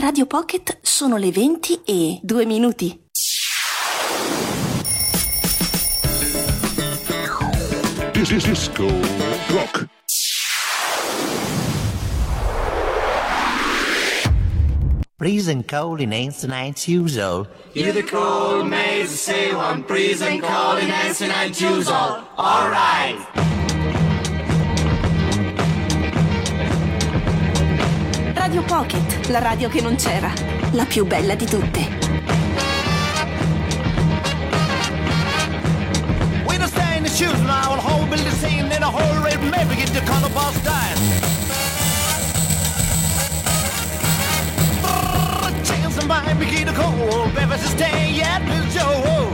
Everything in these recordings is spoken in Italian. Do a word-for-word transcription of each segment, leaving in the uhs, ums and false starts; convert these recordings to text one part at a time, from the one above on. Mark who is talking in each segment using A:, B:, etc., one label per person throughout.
A: Radio Pocket sono le venti e due minuti.
B: Disco Rock.
C: Freezing cold in ancient usual.
D: You're the cold maze, say one, freezing cold in ancient usual. All right.
A: Radio Pocket, la radio che non c'era, la più bella di tutte.
E: We don't stay in the shoes now, the whole building scene in a whole red maybe get the color boss dying. Chickens and mine begin to cold, baby, to stay at the show.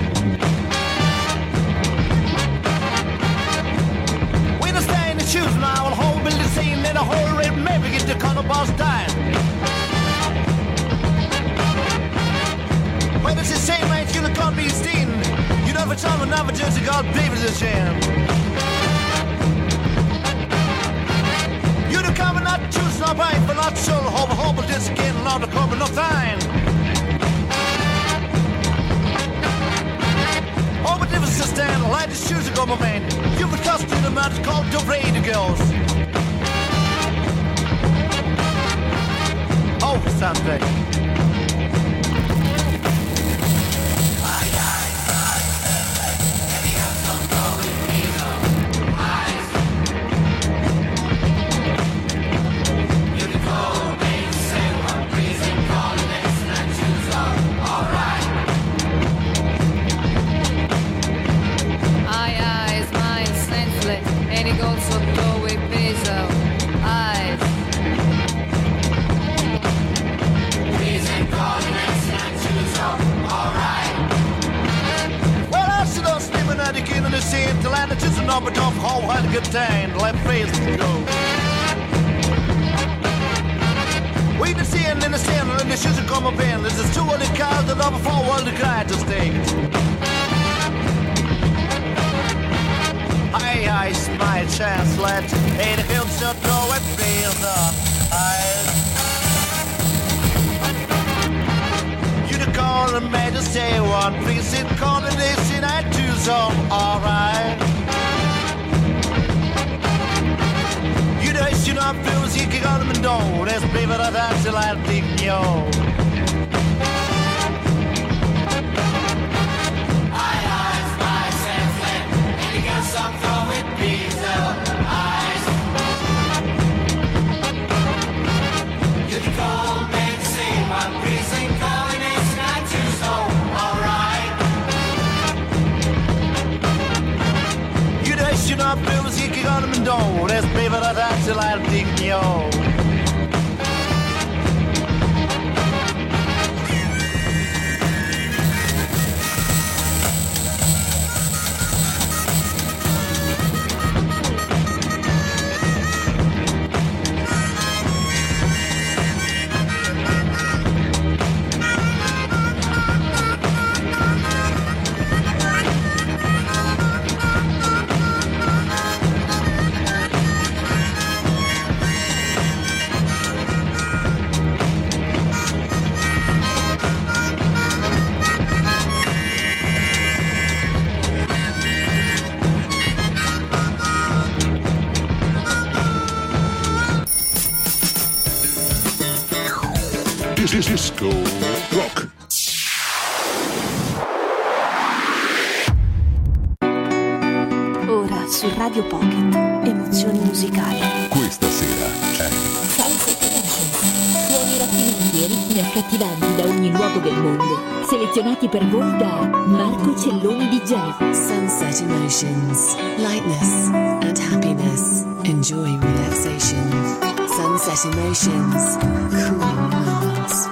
E: We don't stay in the shoes now, the whole building scene in a whole red maybe get the color boss dying. When it's a shame, ain't you look on me, Steen. You never tell me, never just got babies a shame. You the cover not choose, not right, but not sure. Hope, hope, this again, not the cover, no time. Oh, but if it's a stand, light the shoes to go, my man. You've a costume, the man called the Brady Girls. Oh, Sunday. But don't how had a good time, let face go. We been seeing in the sand and the shoes come up in. This is two of the cars that over four world the guy to stay. Aye, aye, my chance, let ain't a hill shut no it feels up. Aye. You the call and made us say one, please sit calling this in I do so, alright. You know, feels you can on them and don't. Let's be for that, that's the light of the yo.
D: Aye, aye, spice and flip. And you got some throw with pizza. Eyes. You're the cold man, say one, freezing cold, and it's not too so. Alright.
E: You know, you know, feels you can on them and don't. Let's be for that, that's the light of the yo.
B: Disco Rock.
A: Ora su Radio Pocket, emozioni musicali.
B: Questa sera è
F: Sunset Emotions. Suoni raffinati e ritmi accattivanti da ogni luogo del mondo, selezionati per voi da Marco Celloni D J.
G: Sunset Emotions. Lightness and happiness. Enjoy relaxation. Sunset Emotions. Cool moments.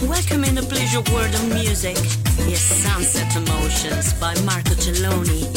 H: Welcome in the pleasure world of music. Yes, Sunset Emotions by Marco Celloni.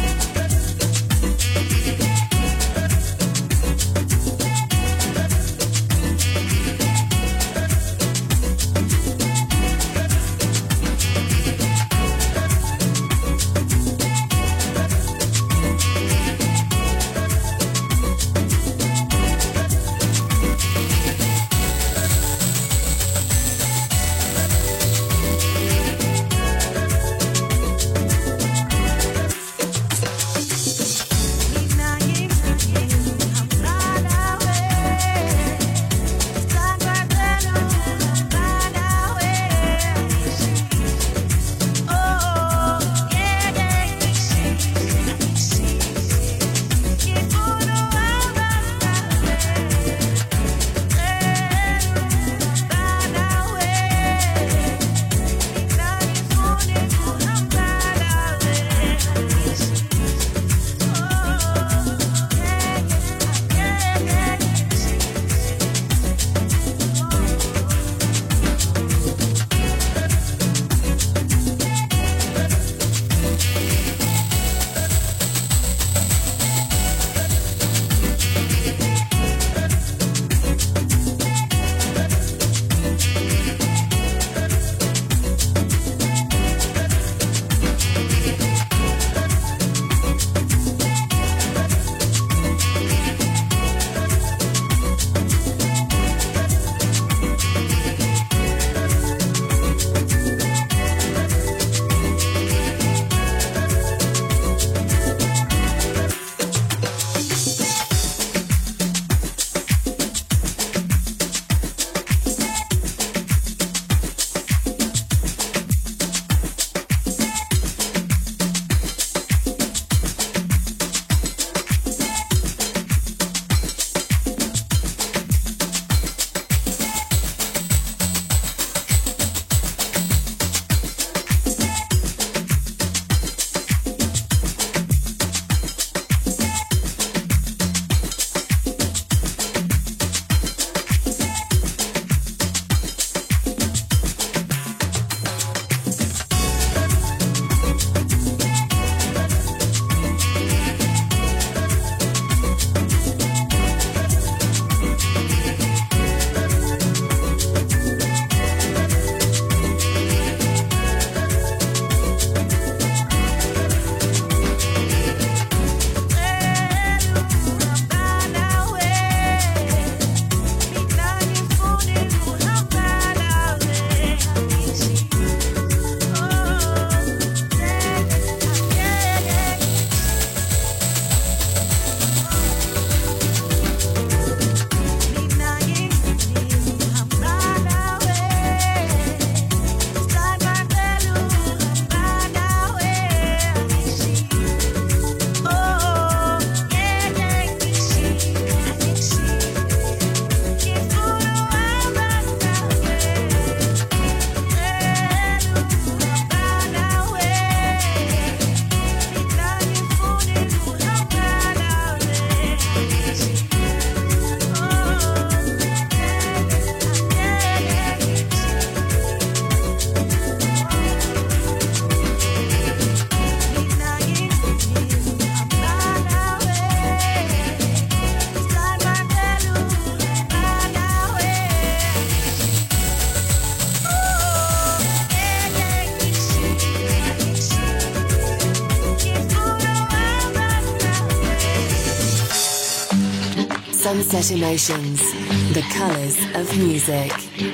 G: Sunset Emotions, the colours of music.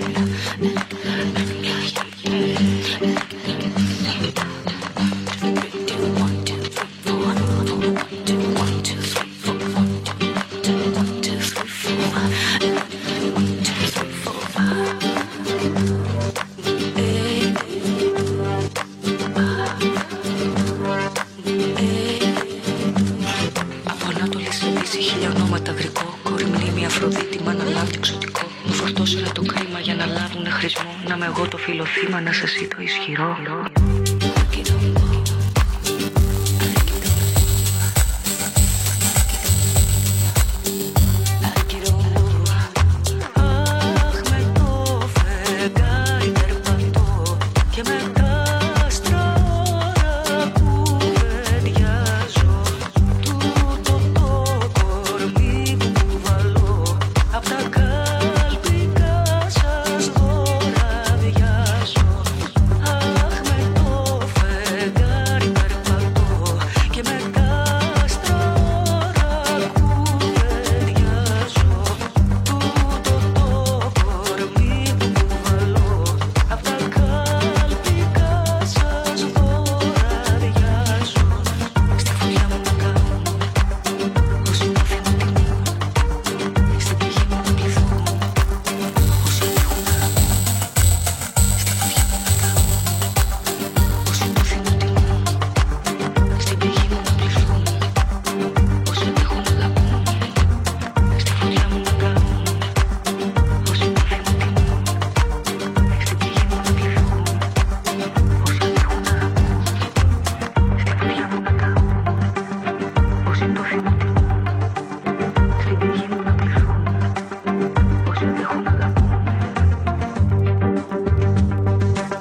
I: Θύμα να σε εσύ το ισχυρό. Αχ, με το φεγγάρι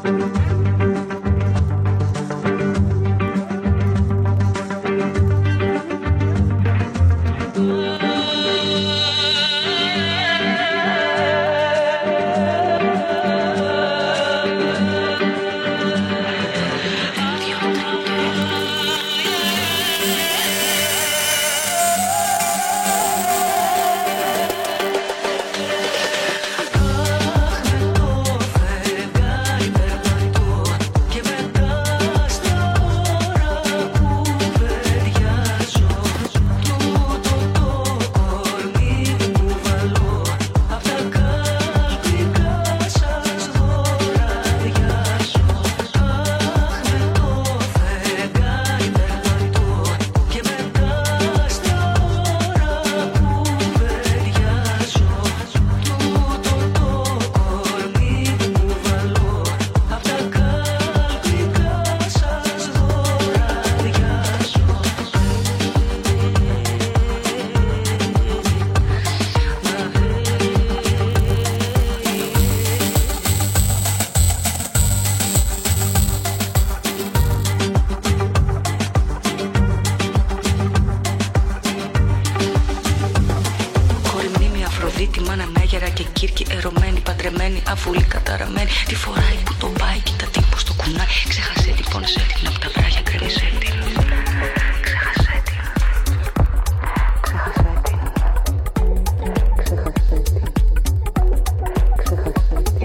I: Αφούλη καταραμένη, τη φοράει που τον πάει. Κοίτα τι πως το κουνάει. Ξέχασε την, πόνεσέ την. Απ' τα βράχια κρέμισε την. Ξέχασε την. Ξέχασε την. Ξέχασε την. Ξέχασε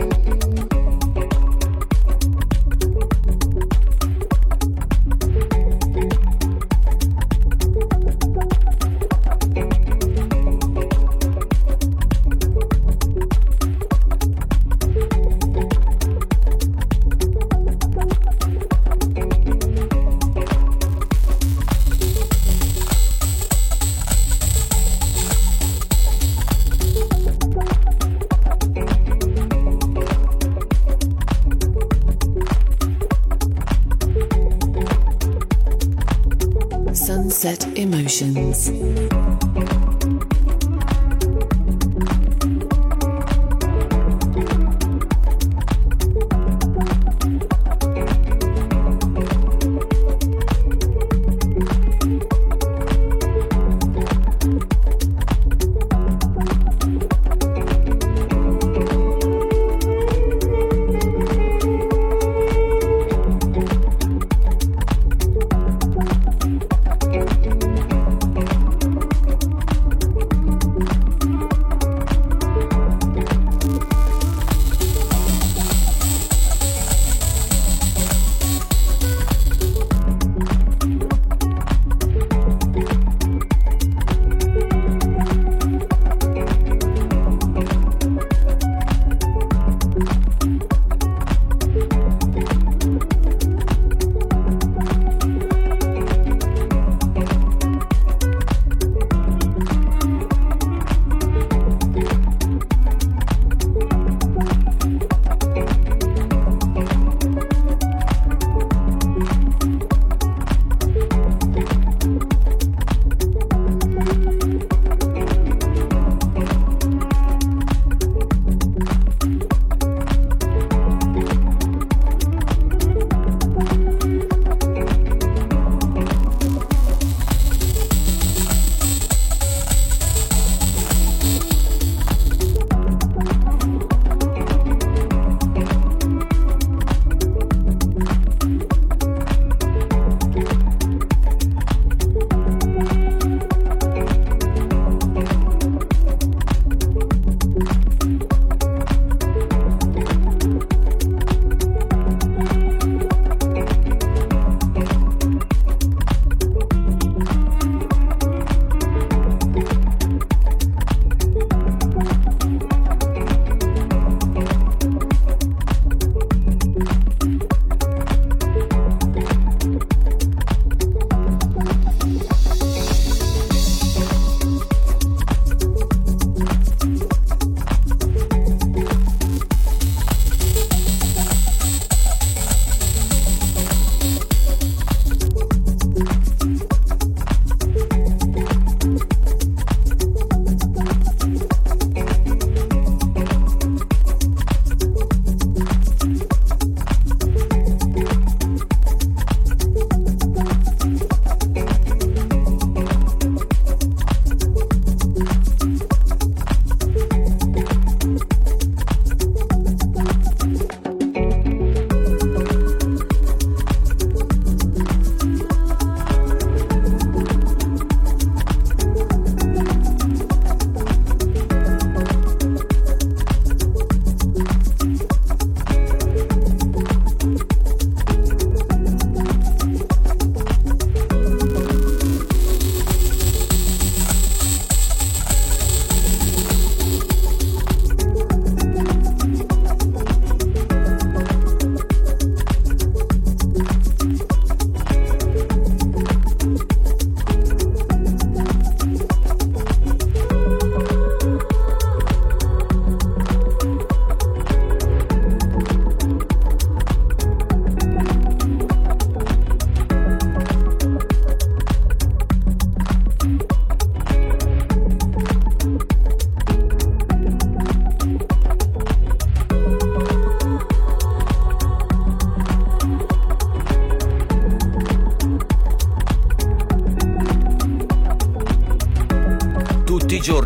G: Sunset Emotions.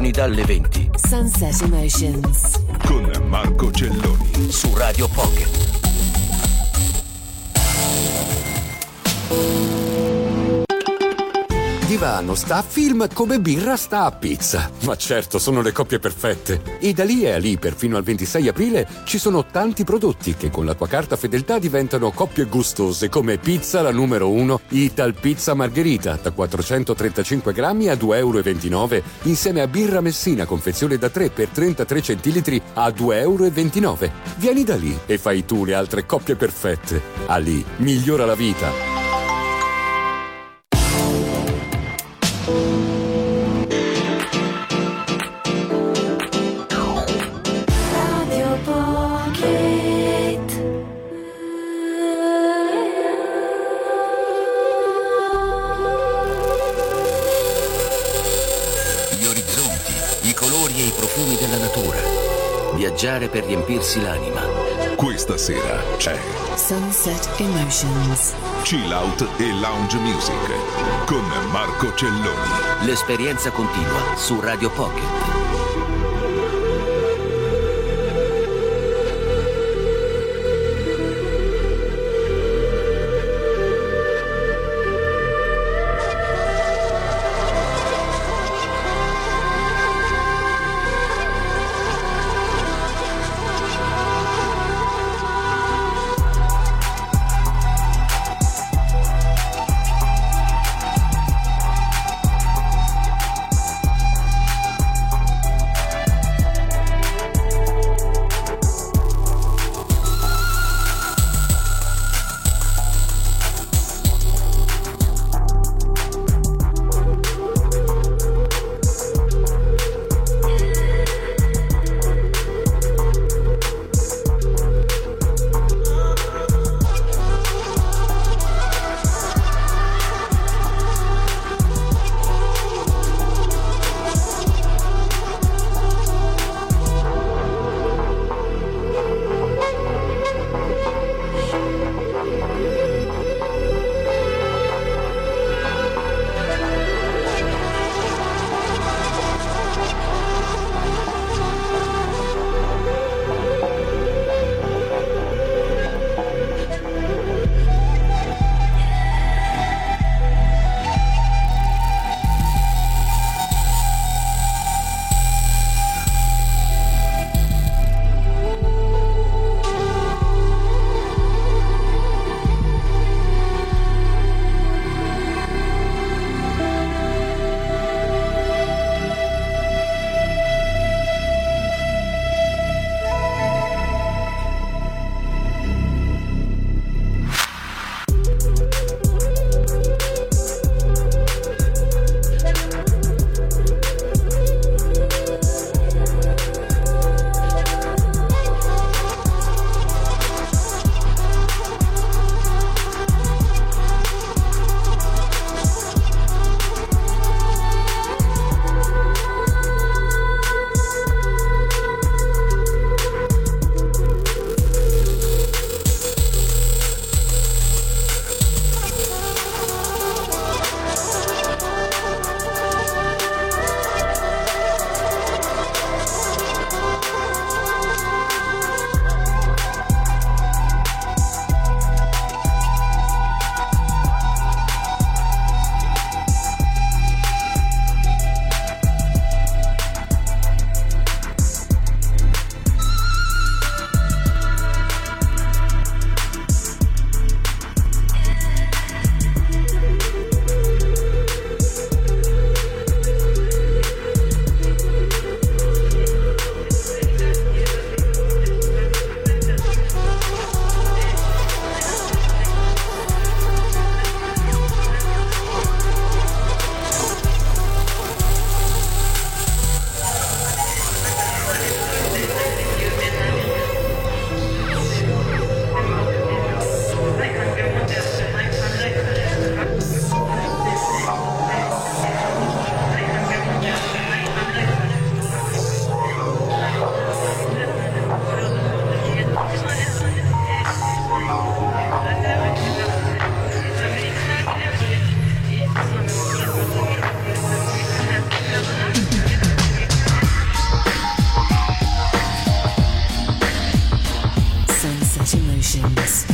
J: giorni dalle venti.
G: Sunset Emotions
B: con Marco Celloni
J: su Radio Pocket.
K: Divano sta a film come birra sta a pizza. Ma certo, sono le coppie perfette. E da lì e a lì, per fino al ventisei aprile, ci sono tanti prodotti che con la tua carta fedeltà diventano coppie gustose, come pizza la numero uno, Ital Pizza Margherita, da quattrocentotrentacinque grammi a due e ventinove euro, insieme a birra Messina, confezione da tre per trentatré centilitri a due e ventinove euro. Vieni da lì e fai tu le altre coppie perfette. A lì, migliora la vita.
J: Viaggiare per riempirsi l'anima.
B: Questa sera c'è
G: Sunset Emotions,
B: Chill Out e Lounge Music con Marco Celloni.
J: L'esperienza continua su Radio Pocket.
G: Emotions.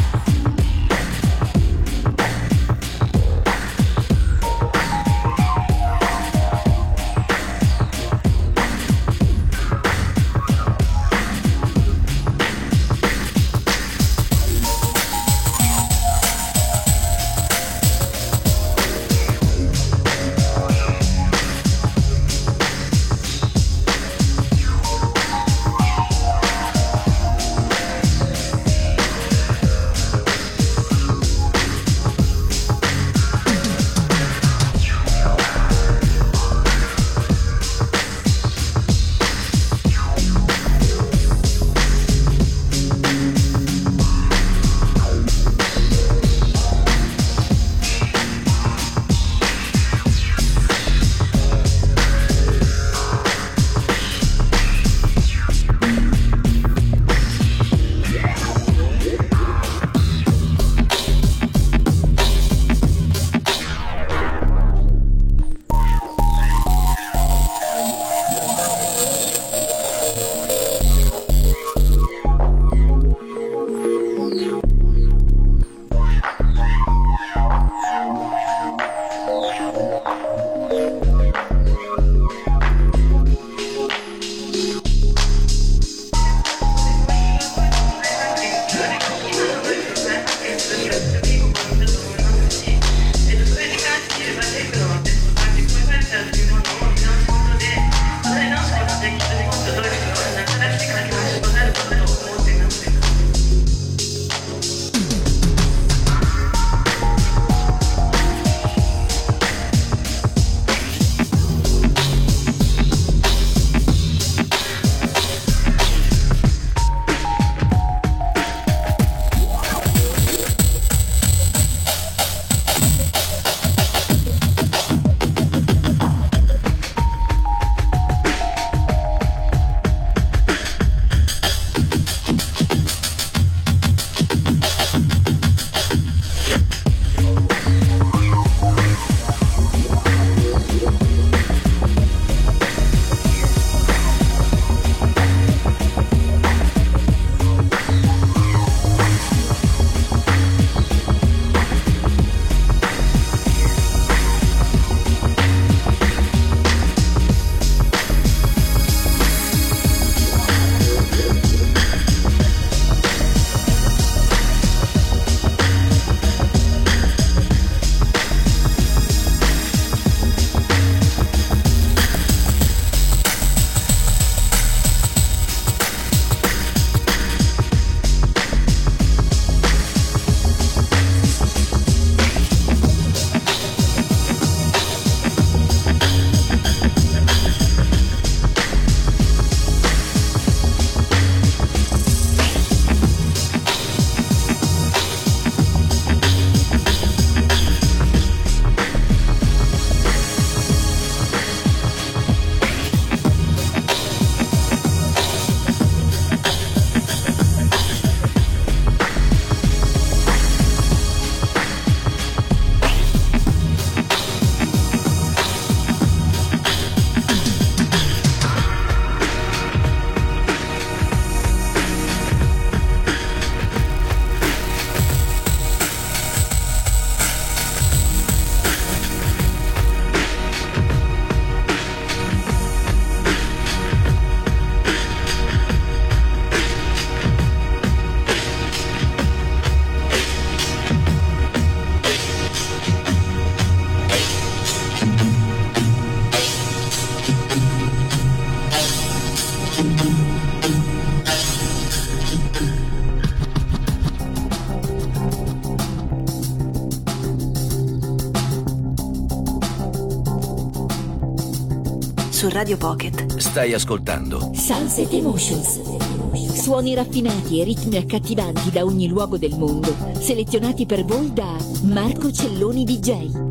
A: Su Radio Pocket
J: stai ascoltando
F: Sunset Emotions. Suoni raffinati e ritmi accattivanti da ogni luogo del mondo, selezionati per voi da Marco Celloni D J.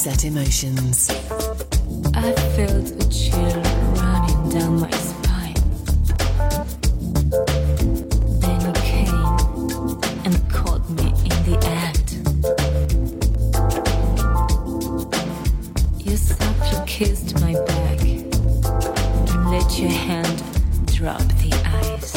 G: Sunset Emotions.
L: I felt a chill running down my spine. Then you came and caught me in the act. You softly kissed my back and let your hand drop the ice.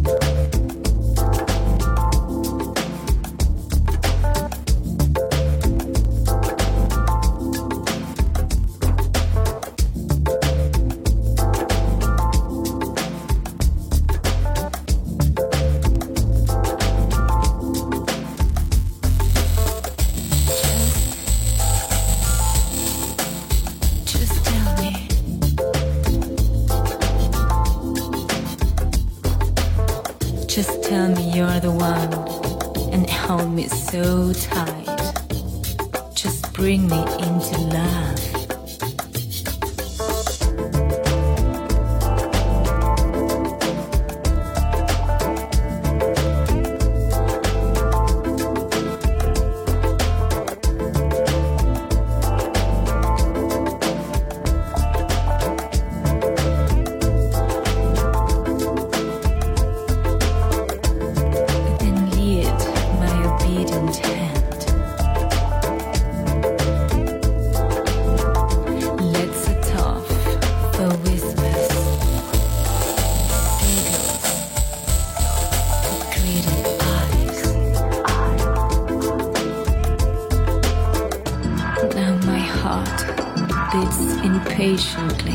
L: Just tell me you're the one and hold me so tight. Just bring me into love. Impatiently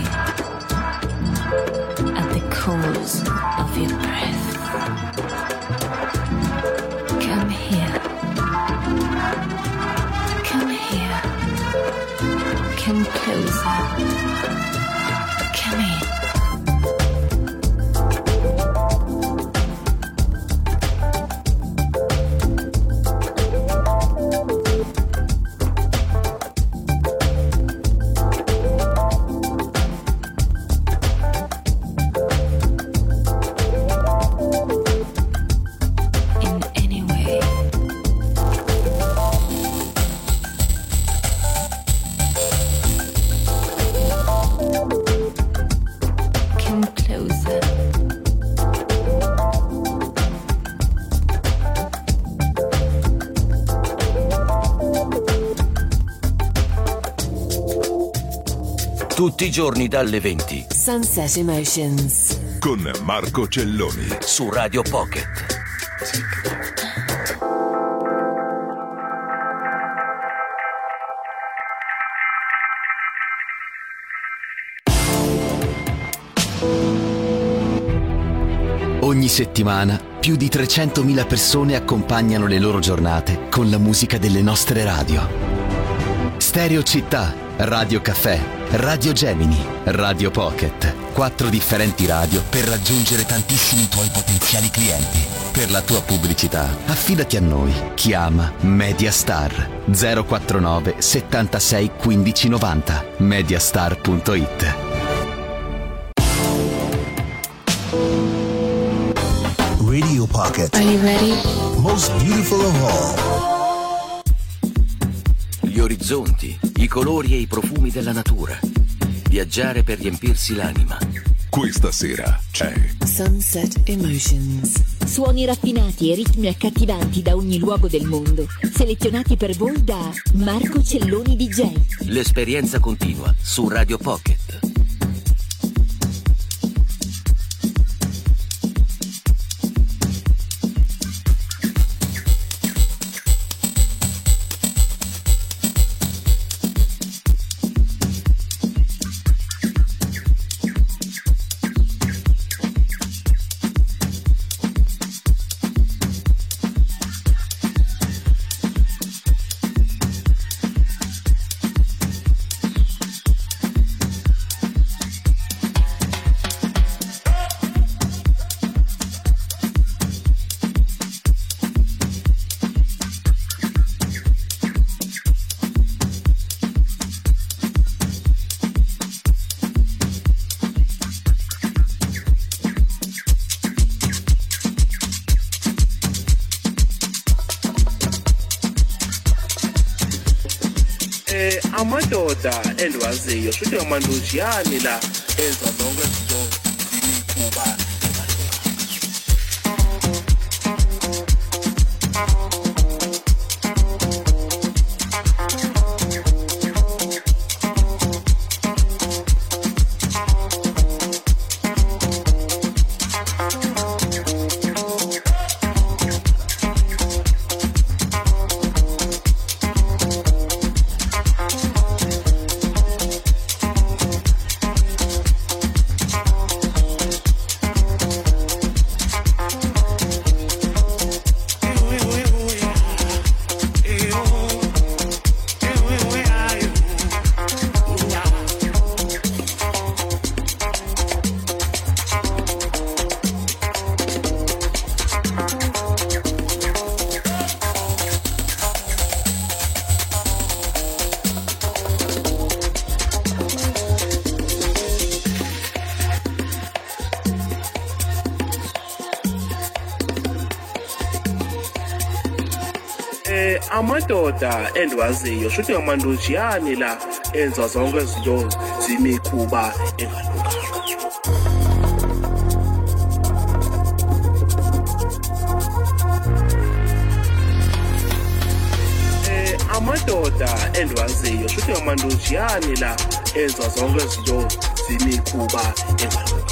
L: at the cause of your breath. Come here. Come here. Come closer. Come in.
J: Tutti i giorni dalle venti.
G: Sunset Emotions.
B: Con Marco Celloni.
J: Su Radio Pocket.
M: Ogni settimana più di trecentomila persone accompagnano le loro giornate con la musica delle nostre radio. Stereo Città, Radio Caffè, Radio Gemini, Radio Pocket. Quattro differenti radio per raggiungere tantissimi tuoi potenziali clienti. Per la tua pubblicità, affidati a noi. Chiama Mediastar zero quarantanove settantasei quindici novanta. mediastar punto it.
N: Radio Pocket.
G: Are you ready?
N: Most beautiful of all.
J: Gli orizzonti, i colori e i profumi della natura. Viaggiare per riempirsi l'anima.
B: Questa sera c'è
G: Sunset Emotions.
F: Suoni raffinati e ritmi accattivanti da ogni luogo del mondo, selezionati per voi da Marco Celloni D J.
J: L'esperienza continua su Radio Pocket.
O: Eh, amadoda endiwaziyo futhi amandojiyani la enza zonke izinto kuba amadoda endiwaziyo futhi amandojiyani la enza zonke izinto zimikhuba engalunganga. Eh amadoda endiwaziyo futhi amandojiyani la enza zonke izinto zimikhuba engalunganga.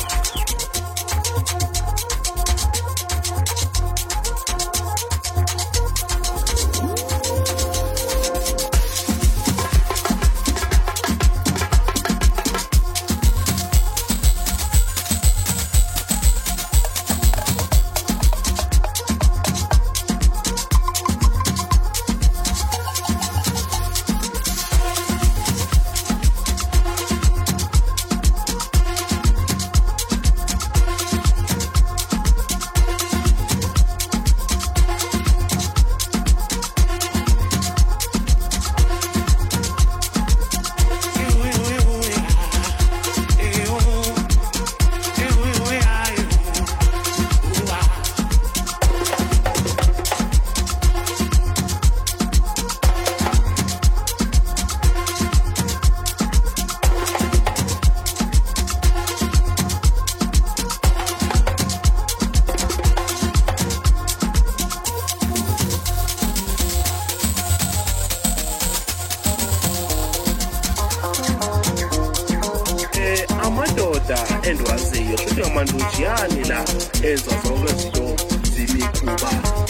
O: endiwaziyo futhi amandojiyani la enza zonke izinto zimikhuba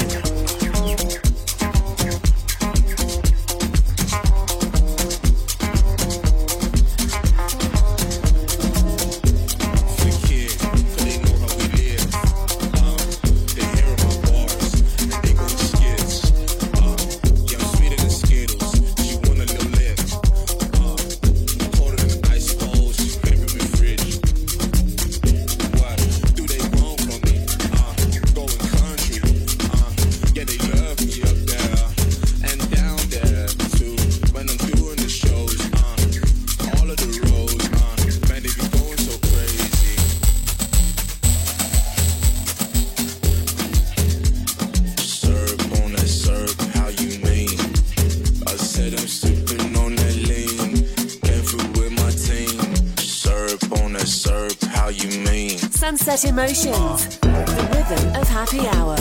G: Sunset Emotions, the rhythm of happy hour.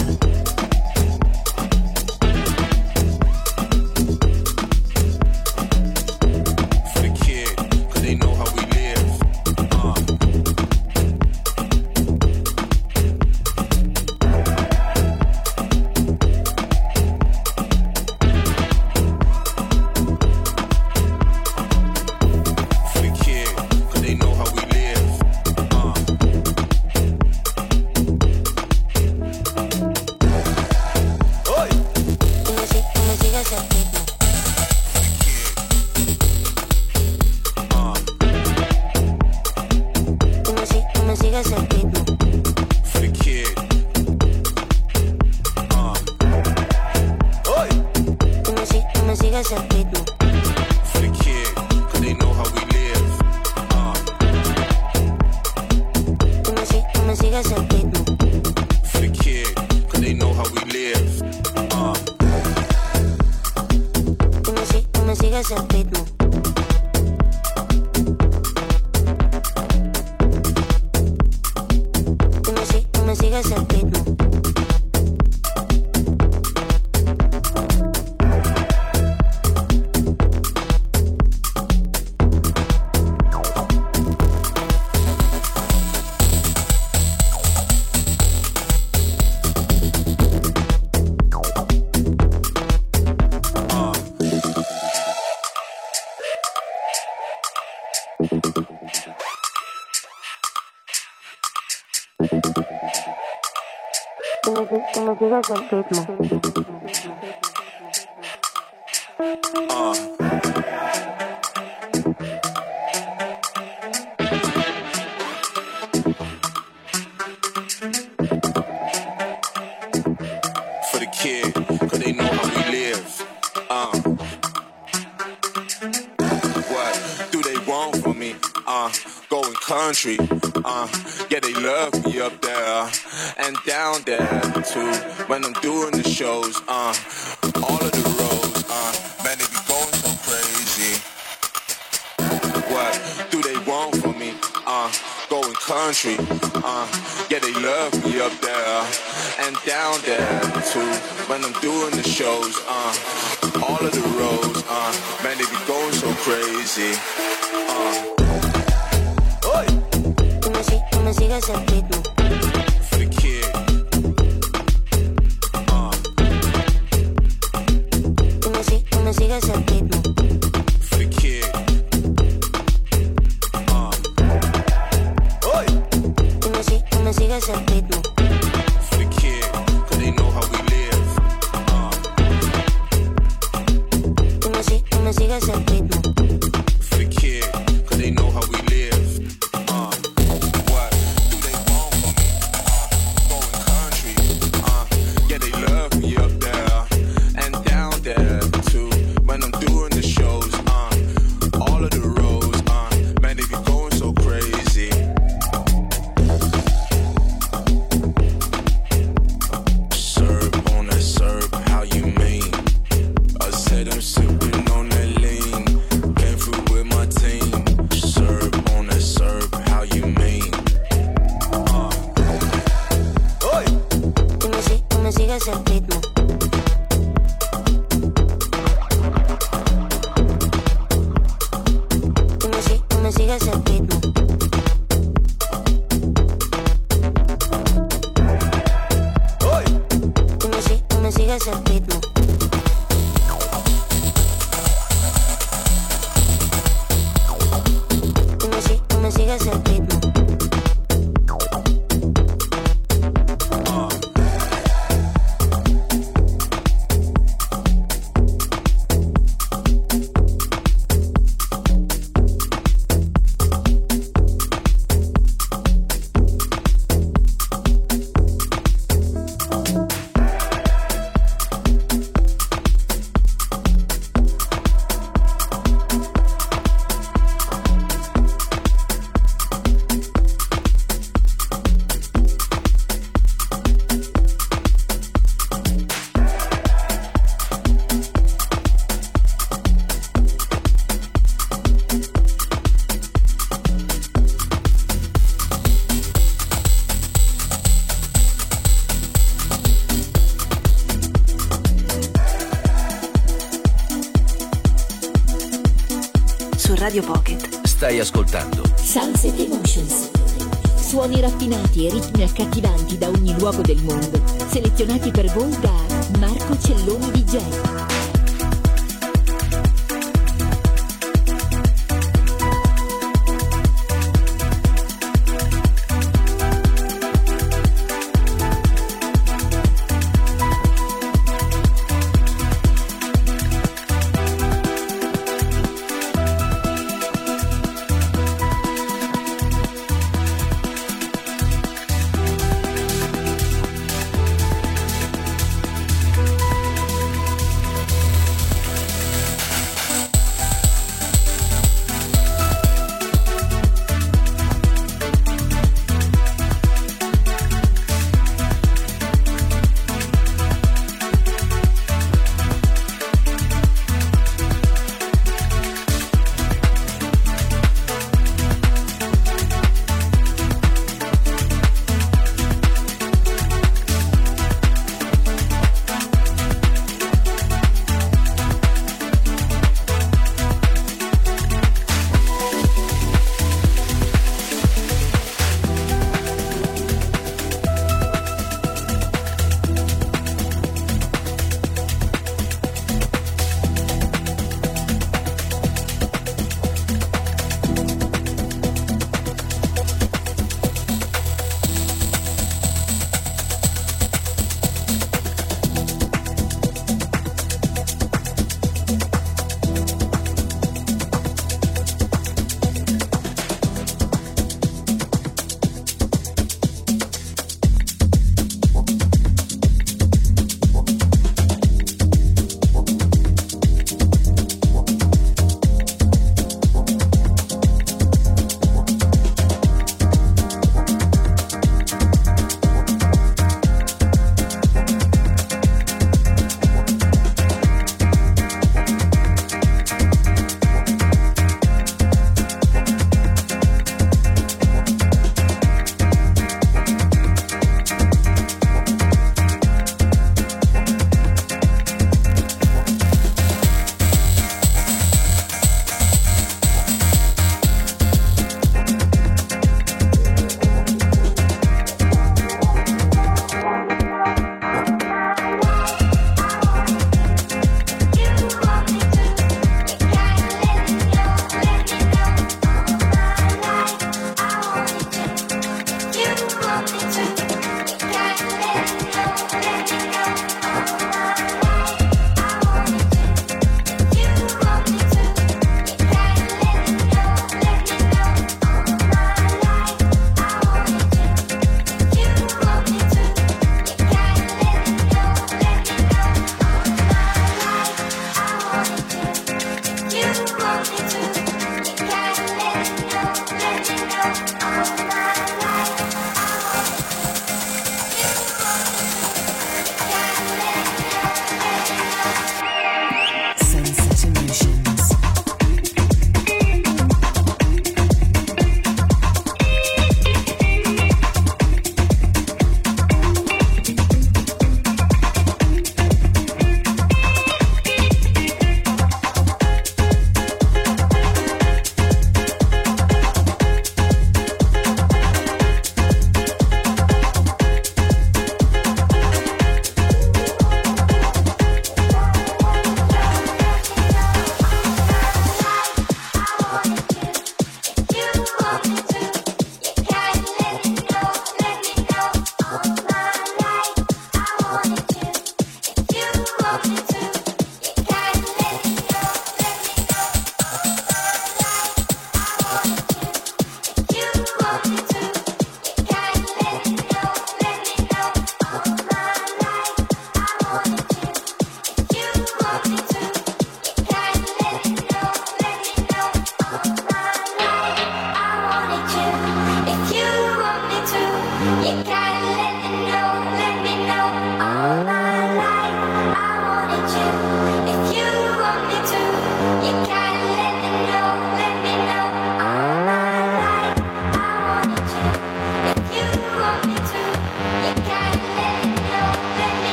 P: Sigas el ritmo. For the kid, cause they know how we live. Uh. What do they want from me? Uh, going country. Uh, yeah, they love me up there and down there too. When I'm doing the shows, uh, all of the roads, uh, man, they be going so crazy. What do they want from me? Uh, going country. Uh, yeah, they love me up there and down there too. When I'm doing the shows, uh, all of the roads, uh, man, they be going so crazy. Uh.
Q: Tú me sigues el ritmo.
P: For the kid. Uh.
Q: Tú me, si- tú me sigues el ritmo.
P: For the kid. Uh.
Q: Tú me, si- tú me sigues el ritmo.
P: For the kid, cause they know how we live. Uh.
Q: Tú me, si- tú me sigues el ritmo.
P: For the kid, cause they know how we live. Uh. What do they want from me? Uh. Going country. Uh. Yeah, they love me up there and down there too. When I'm doing the shows, uh. All of the roads, uh. Man, they be going so crazy. Serve on that serve, how you mean? I said I'm sipping on that lean. Came through with my team. Serve on that serve, how you mean? Uh.
Q: Tú me, si- tú me sigues el ritmo. Tú me, si- tú me sigues el ritmo. Tú me, si- tú me sigues el ritmo. Tú me, si- tú me sigues el ritmo.
A: Su Radio Pocket.
J: Stai ascoltando
F: Sunset Emotions. Suoni raffinati e ritmi accattivanti da ogni luogo del mondo, selezionati per voi da Marco Celloni D J.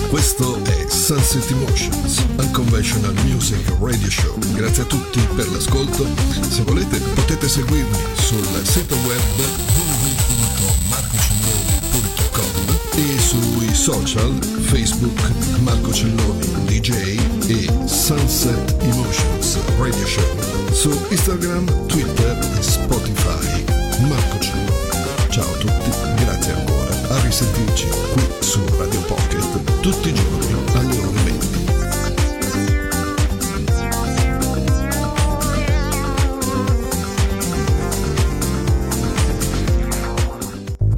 R: Questo è Sunset Emotions, Unconventional Music Radio Show. Grazie a tutti per l'ascolto. Se volete potete seguirmi sul sito web w w w punto marco celloni punto com e sui social Facebook Marco Celloni D J e Sunset Emotions Radio Show. Su Instagram, Twitter e Spotify Marco Celloni. Ciao a tutti, grazie ancora. A risentirci qui su Radio Pocket tutti i giorni.